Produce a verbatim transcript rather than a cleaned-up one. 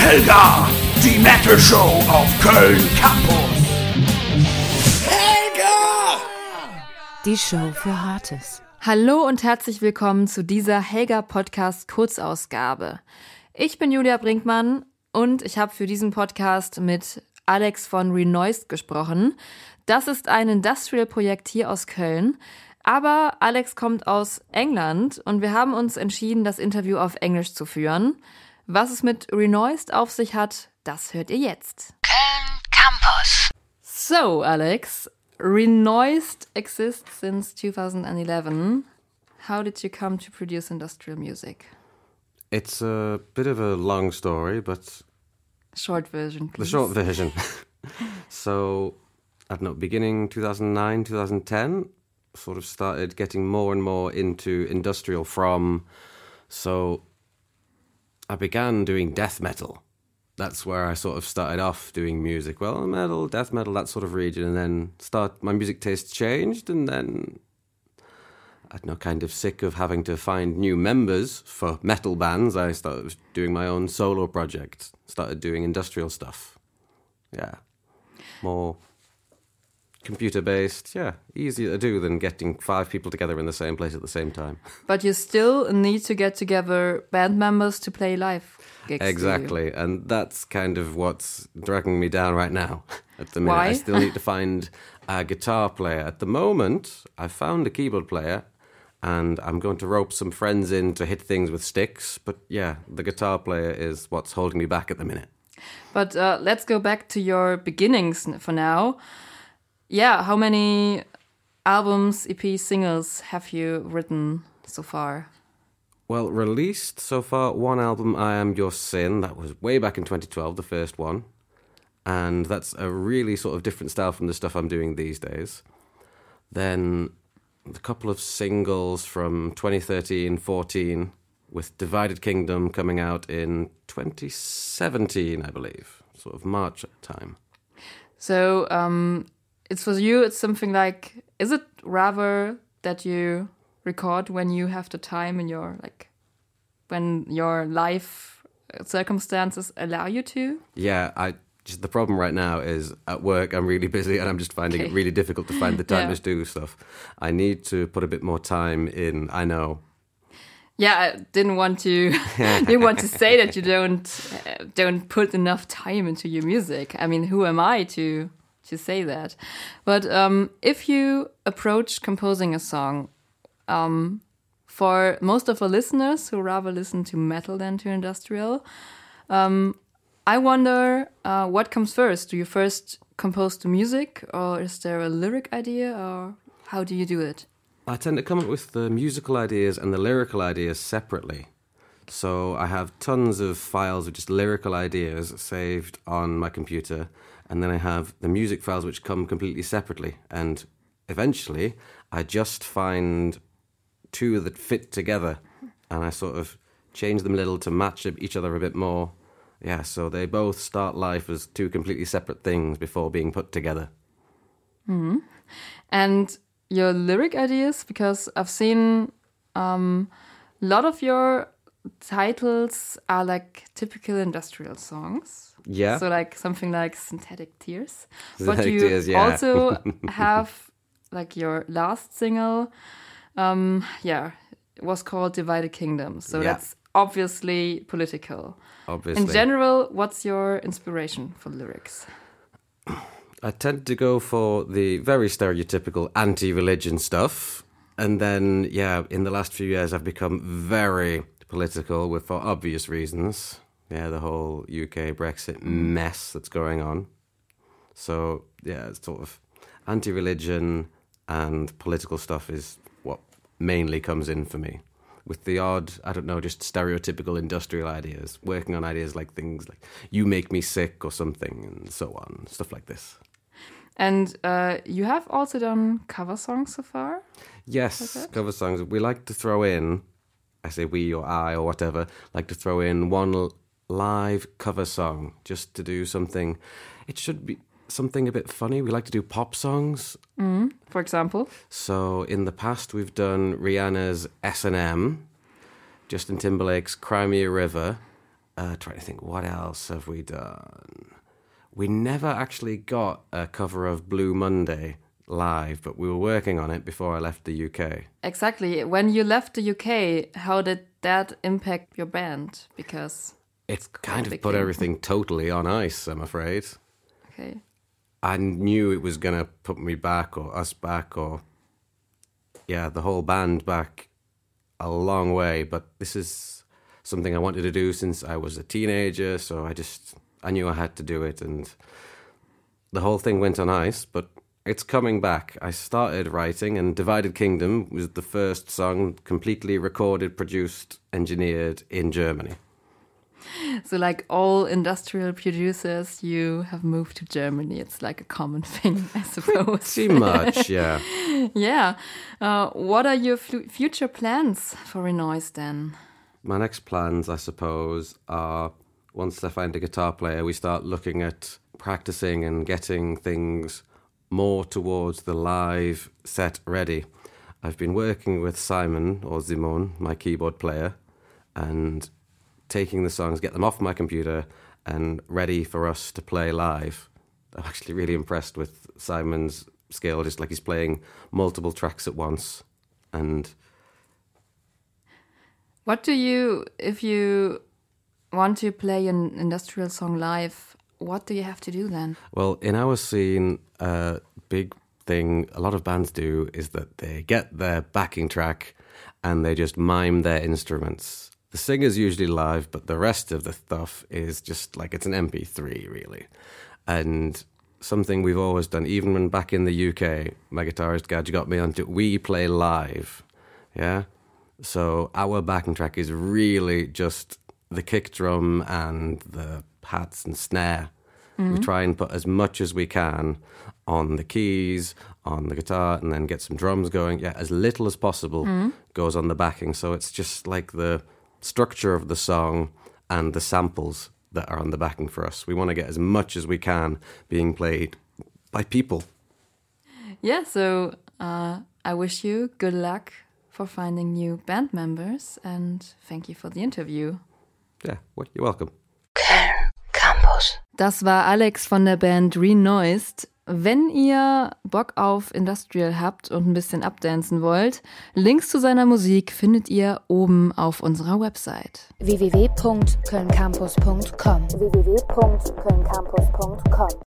Helga, die Metal Show auf Köln Campus. Helga! Die Show für Hartes. Hallo und herzlich willkommen zu dieser Helga Podcast Kurzausgabe. Ich bin Julia Brinkmann und ich habe für diesen Podcast mit Alex von Renoised gesprochen. Das ist ein Industrial-Projekt hier aus Köln. Aber Alex kommt aus England und wir haben uns entschieden, das Interview auf Englisch zu führen. Was es mit Renoised auf sich hat, das hört ihr jetzt. Köln Campus. So, Alex, Renoised exists since two thousand eleven. How did you come to produce industrial music? It's a bit of a long story, but... Short version, please. The short version. So, I don't know, beginning two thousand nine, two thousand ten... sort of started getting more and more into industrial from, so I began doing death metal. That's where I sort of started off doing music. Well, metal, death metal, that sort of region, and then start my music taste changed, and then I don't know, kind of sick of having to find new members for metal bands. I started doing my own solo project, started doing industrial stuff. Yeah, more computer-based, yeah, easier to do than getting five people together in the same place at the same time. But you still need to get together band members to play live gigs. Exactly, and that's kind of what's dragging me down right now at the minute. Why? I still need to find a guitar player. At the moment, I found a keyboard player, and I'm going to rope some friends in to hit things with sticks, but yeah, the guitar player is what's holding me back at the minute. But uh, let's go back to your beginnings for now. Yeah, how many albums, E Ps, singles have you written so far? Well, released so far, one album, I Am Your Sin. That was way back in twenty twelve, the first one. And that's a really sort of different style from the stuff I'm doing these days. Then a couple of singles from twenty thirteen, fourteen, with Divided Kingdom coming out in twenty seventeen, I believe. Sort of March time. So, um... it's for you, it's something like, is it rather that you record when you have the time in your, like, when your life circumstances allow you to? Yeah, I just the problem right now is at work I'm really busy and I'm just finding Okay. it really difficult to find the time Yeah. to do stuff. I need to put a bit more time in, I know. Yeah, I didn't want to didn't want to say that you don't uh, don't put enough time into your music. I mean, who am I to... to say that. But um, if you approach composing a song, um, for most of our listeners who rather listen to metal than to industrial, um, I wonder uh, what comes first. Do you first compose the music, or is there a lyric idea, or how do you do it? I tend to come up with the musical ideas and the lyrical ideas separately. So I have tons of files of just lyrical ideas saved on my computer, and then I have the music files which come completely separately. And eventually, I just find two that fit together, and I sort of change them a little to match each other a bit more. Yeah, so they both start life as two completely separate things before being put together. Mm-hmm. And your lyric ideas, because I've seen um, a lot of your titles are like typical industrial songs. Yeah. So like something like Synthetic Tears. Synthetic But you Tears, yeah. also have like your last single, um, yeah, it was called Divided Kingdom. So Yeah. that's obviously political. Obviously. In general, what's your inspiration for lyrics? I tend to go for the very stereotypical anti-religion stuff. And then, yeah, in the last few years, I've become very political with for obvious reasons. Yeah, the whole U K Brexit mess that's going on. So, yeah, it's sort of anti-religion and political stuff is what mainly comes in for me. With the odd, I don't know, just stereotypical industrial ideas, working on ideas like things like you make me sick or something and so on, stuff like this. And uh, you have also done cover songs so far? Yes, Like that? cover songs. We like to throw in, I say we or I or whatever, like to throw in one l- live cover song just to do something. It should be something a bit funny. We like to do pop songs. Mm, for example? So in the past we've done Rihanna's S and M, Justin Timberlake's Cry Me a River, Uh, trying to think, what else have we done? We never actually got a cover of Blue Monday live, but we were working on it before I left the U K. Exactly. When you left the U K, how did that impact your band? Because it's kind of put everything totally on ice, I'm afraid. Okay. I knew it was going to put me back, or us back, or yeah, the whole band back a long way. But this is something I wanted to do since I was a teenager, so I just, I knew I had to do it, and the whole thing went on ice, but it's coming back. I started writing, and Divided Kingdom was the first song completely recorded, produced, engineered in Germany. So like all industrial producers, you have moved to Germany. It's like a common thing, I suppose. Pretty much, yeah. Yeah. Uh, what are your f- future plans for Renoise then? My next plans, I suppose, are once I find a guitar player, we start looking at practicing and getting things more towards the live set ready. I've been working with Simon, or Simon, my keyboard player, and taking the songs, get them off my computer and ready for us to play live. I'm actually really impressed with Simon's skill, just like he's playing multiple tracks at once. And what do you, if you want to play an industrial song live, what do you have to do then? Well, in our scene, a big thing a lot of bands do is that they get their backing track and they just mime their instruments. The singer's usually live, but the rest of the stuff is just like it's an M P three, really. And something we've always done, even when back in the U K, my guitarist Gadge got me onto, we play live, yeah? So our backing track is really just the kick drum and the hats and snare. Mm-hmm. We try and put as much as we can on the keys, on the guitar, and then get some drums going. Yeah, as little as possible mm-hmm. goes on the backing. So it's just like the structure of the song and the samples that are on the backing for us. We want to get as much as we can being played by people. Yeah, so uh, I wish you good luck for finding new band members, and thank you for the interview. Yeah, well, you're welcome. Köln Campus. Das war Alex von der Band Renoised. Wenn ihr Bock auf Industrial habt und ein bisschen updancen wollt, Links zu seiner Musik findet ihr oben auf unserer Website. w w w punkt köln campus punkt com w w w punkt köln campus punkt com